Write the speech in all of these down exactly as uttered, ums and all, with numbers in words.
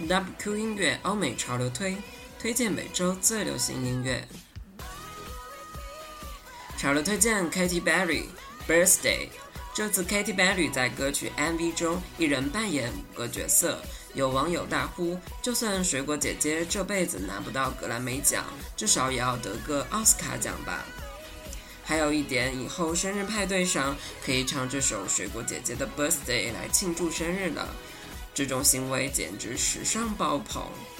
W Q 音乐欧美潮流推，推荐每周最流行音乐。潮流推荐 Katy Perry Birthday。这次 Katy Perry 在歌曲 M V 中一人扮演五个角色，有网友大呼，就算水果姐姐这辈子拿不到格莱美奖，至少也要得个奥斯卡奖吧。还有一点，以后生日派对上可以唱这首水果姐姐的 Birthday 来庆祝生日了，这种行为简直时尚爆棚。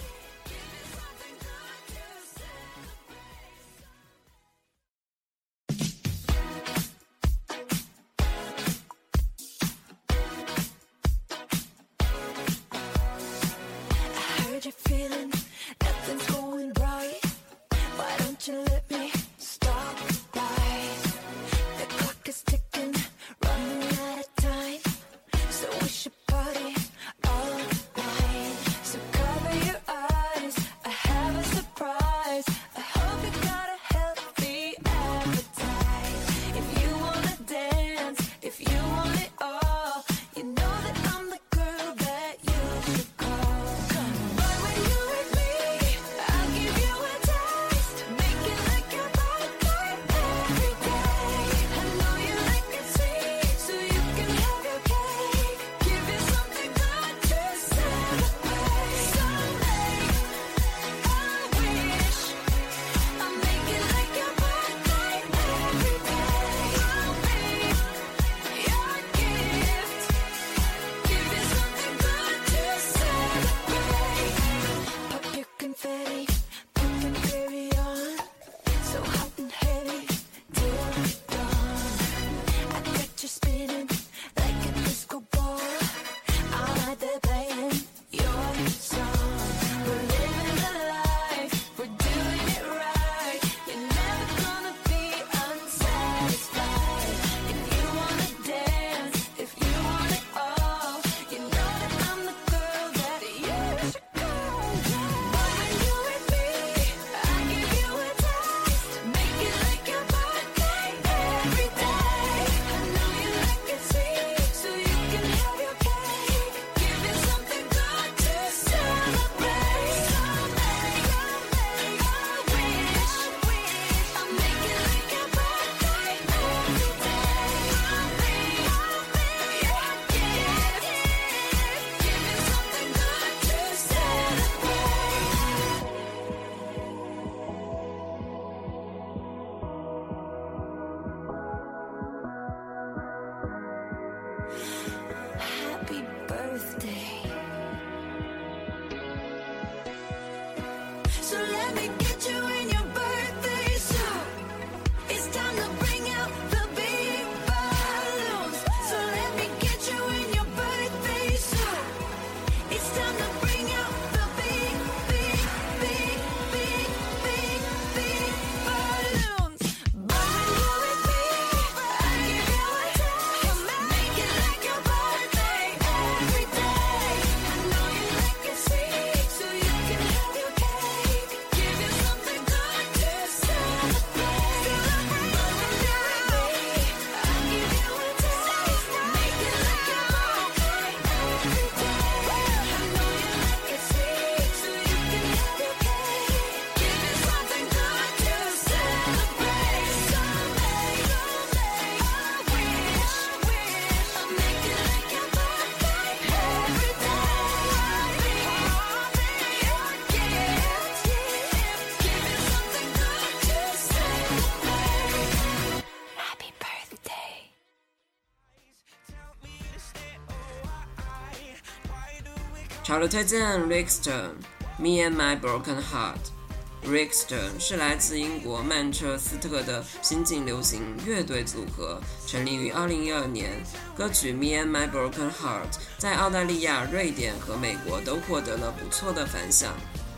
潮流推荐 Rickstone Me and My Broken Heart。 Rickstone 是来自英国曼彻斯特的新晋流行乐队组合，成立于二零一二年。歌曲 Me and My Broken Heart 在澳大利亚、瑞典和美国都获得了不错的反响。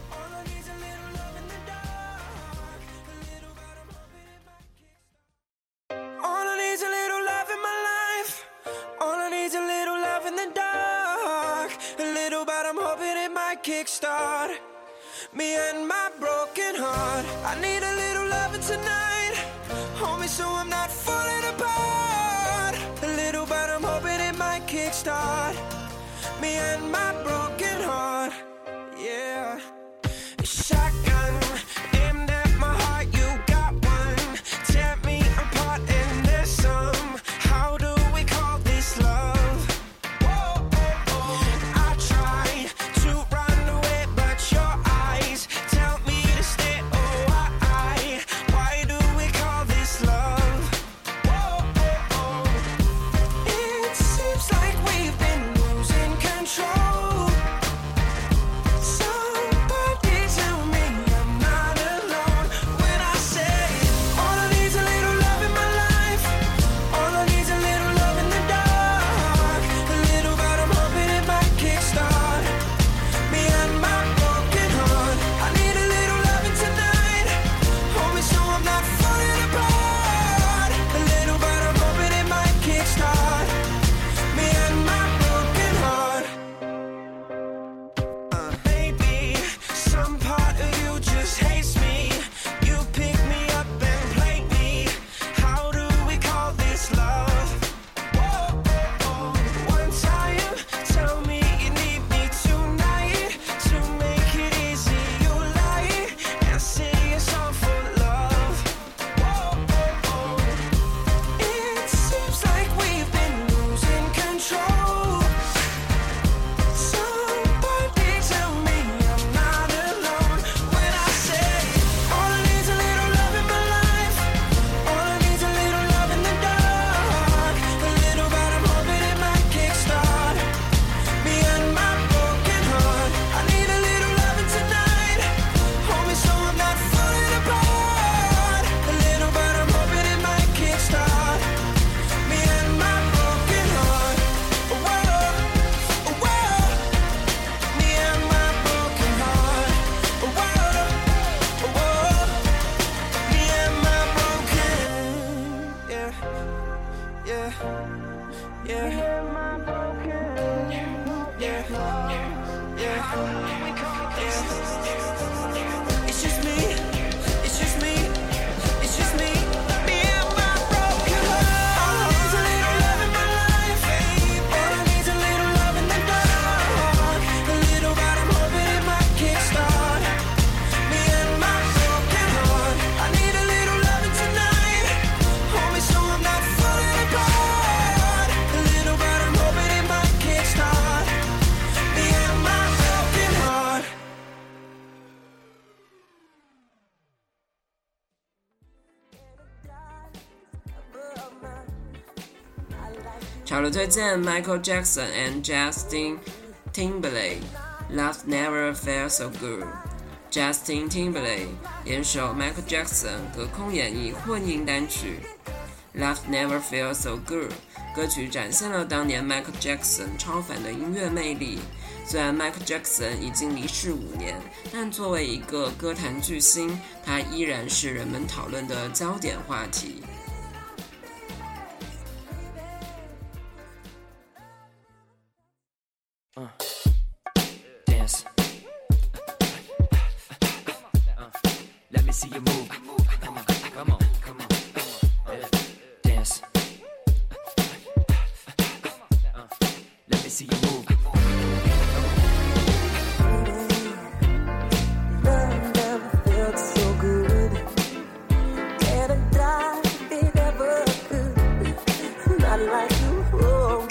Kickstart me and my broken heart. I need a little loving tonight. Hold me so I'm not falling apart. A little but I'm hoping it might kickstart me and my broken heart. yeah, yeah, yeah, yeah, yeah. It's just me, it's just me, it's just me, me and my broken heart. All I need's a little love in my life, all I need's a little love in the dark, a little but I'm hoping it might kickstart me and my broken heart. I need a little loving tonight, hold me so I'm not falling apart, a little but I'm hoping it might kickstart me and my broken heart. 潮流推荐 Michael Jackson and Justin Timberlake Love Never Felt So Good。 Justin Timberlake 联手 Michael Jackson 隔空演绎混音单曲 Love Never Felt So Good。 歌曲展现了当年 Michael Jackson 超凡的音乐魅力。虽然 Michael Jackson 已经离世五年，但作为一个歌坛巨星，他依然是人们讨论的焦点话题。 Uh, dance. Uh, let me see you move. Come on, come on, come on. Uh, dance. Uh, let me see you move. Love never felt so good. Can't I die if it ever could? Not like you. Oh.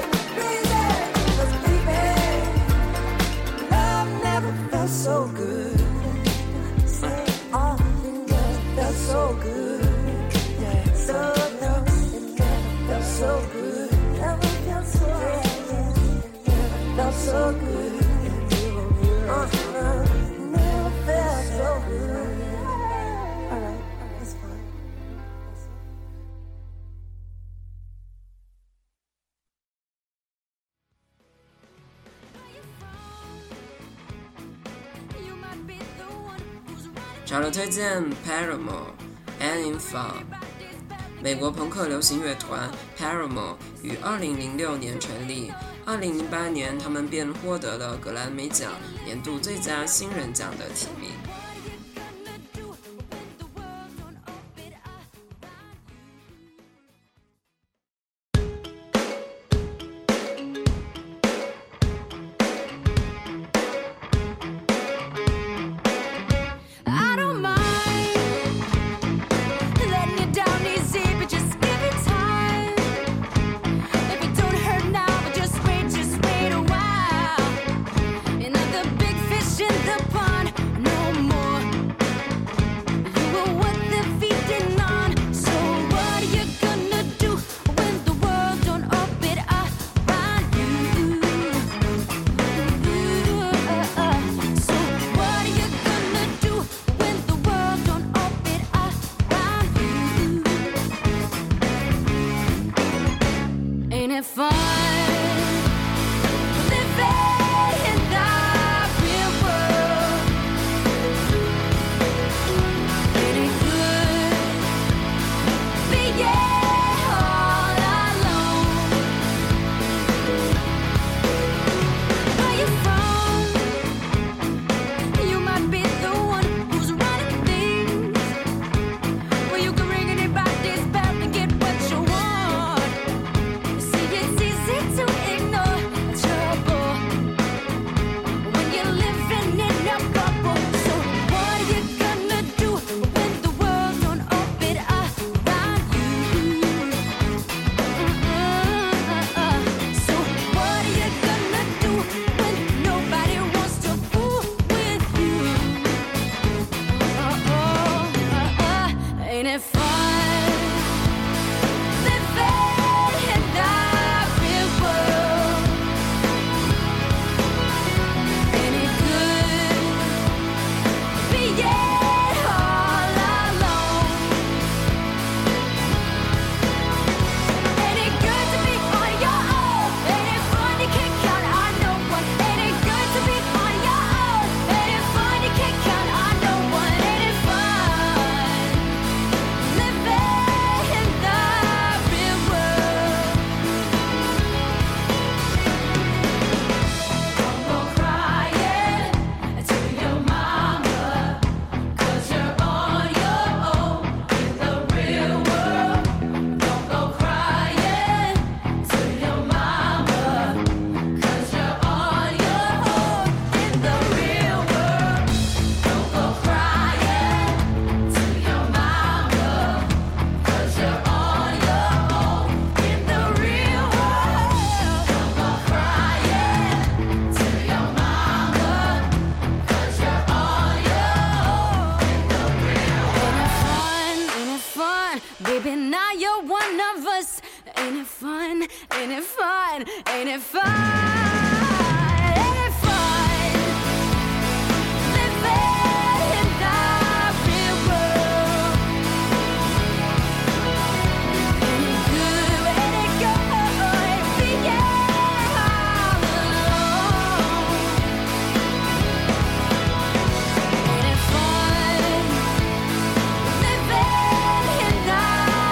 So good. 潮流推荐 Paramore、An In Fun。美国朋克流行乐团 Paramore 于二零零六年成立，二零零八年他们便获得了格莱美奖年度最佳新人奖的提名。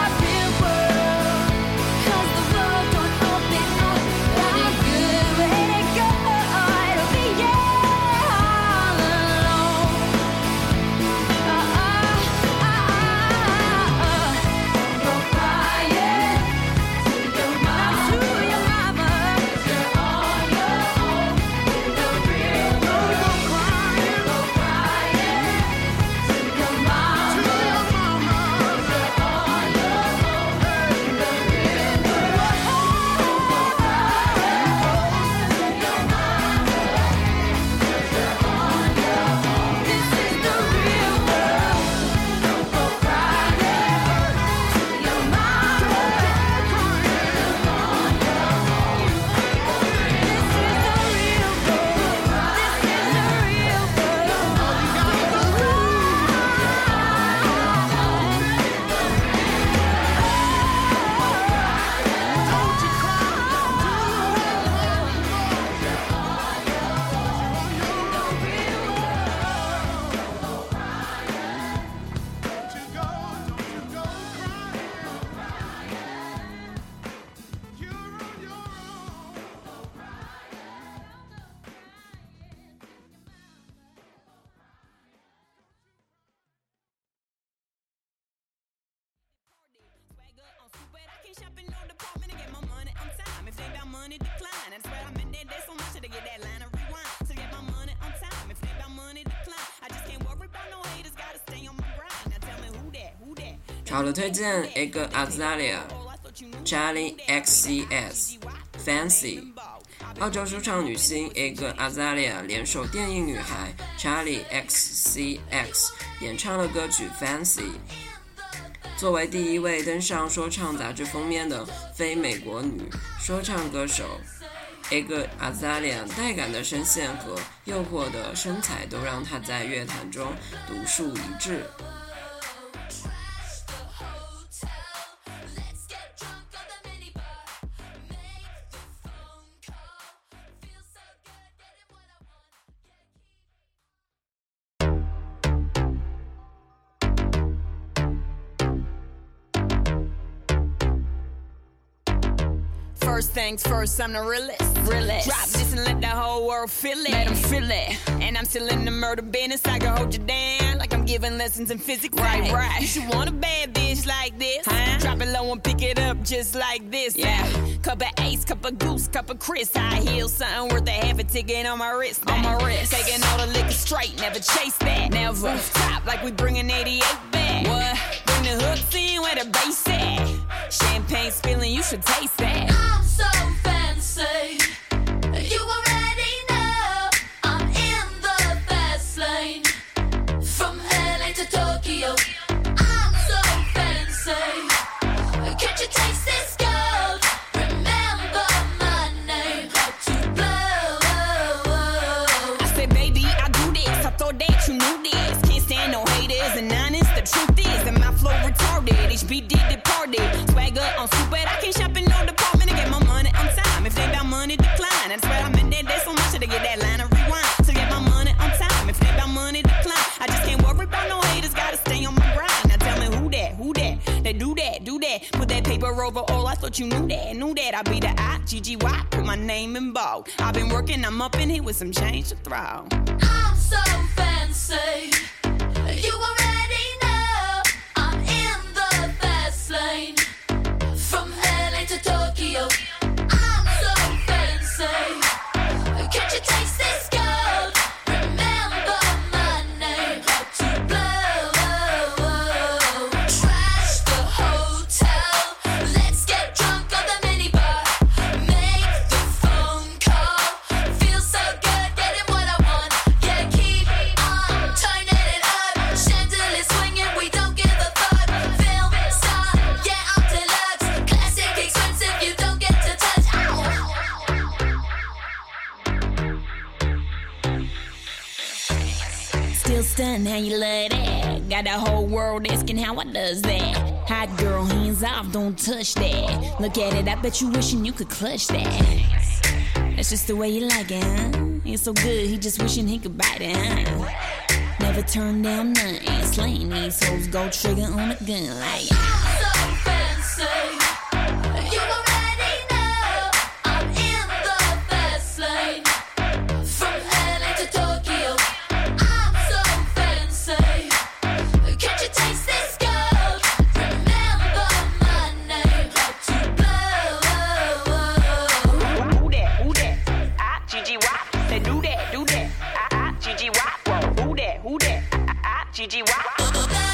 Good money decline. That's where I'm in that day so much to get that line of rewind. To get my money on time. If they about money decline, I just can't worry about no haters. Gotta stay on my grind. Now tell me who that, who that. 潮流推荐 Iggy Azalea、Charlie X C S、Fancy。澳洲说唱女星 Iggy Azalea 联手电影女孩 Charlie X C X 演唱了歌曲 Fancy。作为第一位登上说唱杂志封面的非美国女说唱歌手 Iggy Azalea 带感的声线和诱惑的身材都让她在乐坛中独树一帜。 First things first, I'm the realest. realest. Drop this and let the whole world feel it. Let them feel it. And I'm still in the murder business. I can hold you down like I'm giving lessons in physics. Right, right. You should want a bad bitch like this. Huh? Drop it low and pick it up just like this. Yeah. Cup of Ace, cup of Goose, cup of Chris. High heels, something worth a half a ticket on my wrist. On my wrist. Taking all the liquor straight, never chase that. Never. Top like we bringing eighty-eight back. What? Bring the hooks in where the bass at. Champagne spilling, you should taste that. I'm so fancy. You already know I'm in the fast lane. From L A to Tokyo, I'm so fancy. Can't you taste this gold? Remember my name, how to blow. I said, baby, I do this. I thought that you knew this. Can't stand no haters and honest. The truth is that my flow retarded. H B D departed. Swagger on stupid. I can't shop in no department to get my money on time. If they about money decline, that's where I'm in that day so much to get that line of rewind. To get my money on time. If they about money decline, I just can't worry about no haters. Gotta stay on my grind. Now tell me who that, who that? They do that, do that. Put that paper over all. I thought you knew that, knew that. I be the I G G Y. Put my name in bold. I've been working, I'm up in here with some change to throw. I'm so fancy. You already know I'm in the fast lane. From L A to Tokyo, I'm so fancy. Can't you taste this gold? Remember my name, how to blow. Trash the hotel. Let's get drunk on the minibar. Make the phone call. Feel so good, getting what I want. Yeah, keep on turning it up. Chandelier swinging, we don't give a fuck. Film star, yeah, I'm deluxe. Classic expensive, you don't get to touch. Still stunned how you love that. Got the whole world asking how I does that. Hot girl, hands off, don't touch that. Look at it, I bet you wishing you could clutch that. That's just the way you like it, huh? It's so good, he just wishing he could bite it, huh? Never turn down nothing. Slaying these hoes, go trigger on a gun like. I'm so fancy. You already know I'm in the fast lane. From L A to Tokyo, I'm so fancy. Can't you taste this gold? Remember my name, how to blow. Who that, who that? I G G Y. Say do that, do that. I G G Y. Who that, who that? I G G Y. Who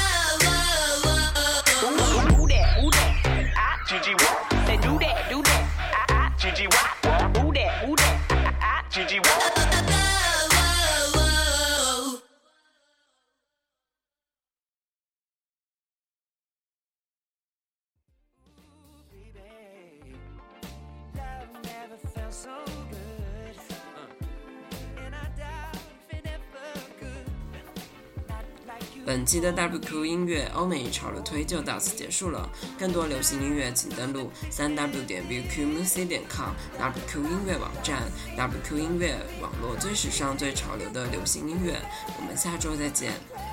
that, who that? I G G Y. Say do that, do that. I G G Y. Who that, who that? I G G Y. Love never felt so good. And I doubt if it ever could. Not like you. 本期的 W Q 音乐欧美潮流推就到此结束了。更多流行音乐，请登录 三 w 点 w q music 点 com W Q 音乐网站 W Q 音乐网络最时尚、最潮流的流行音乐。我们下周再见。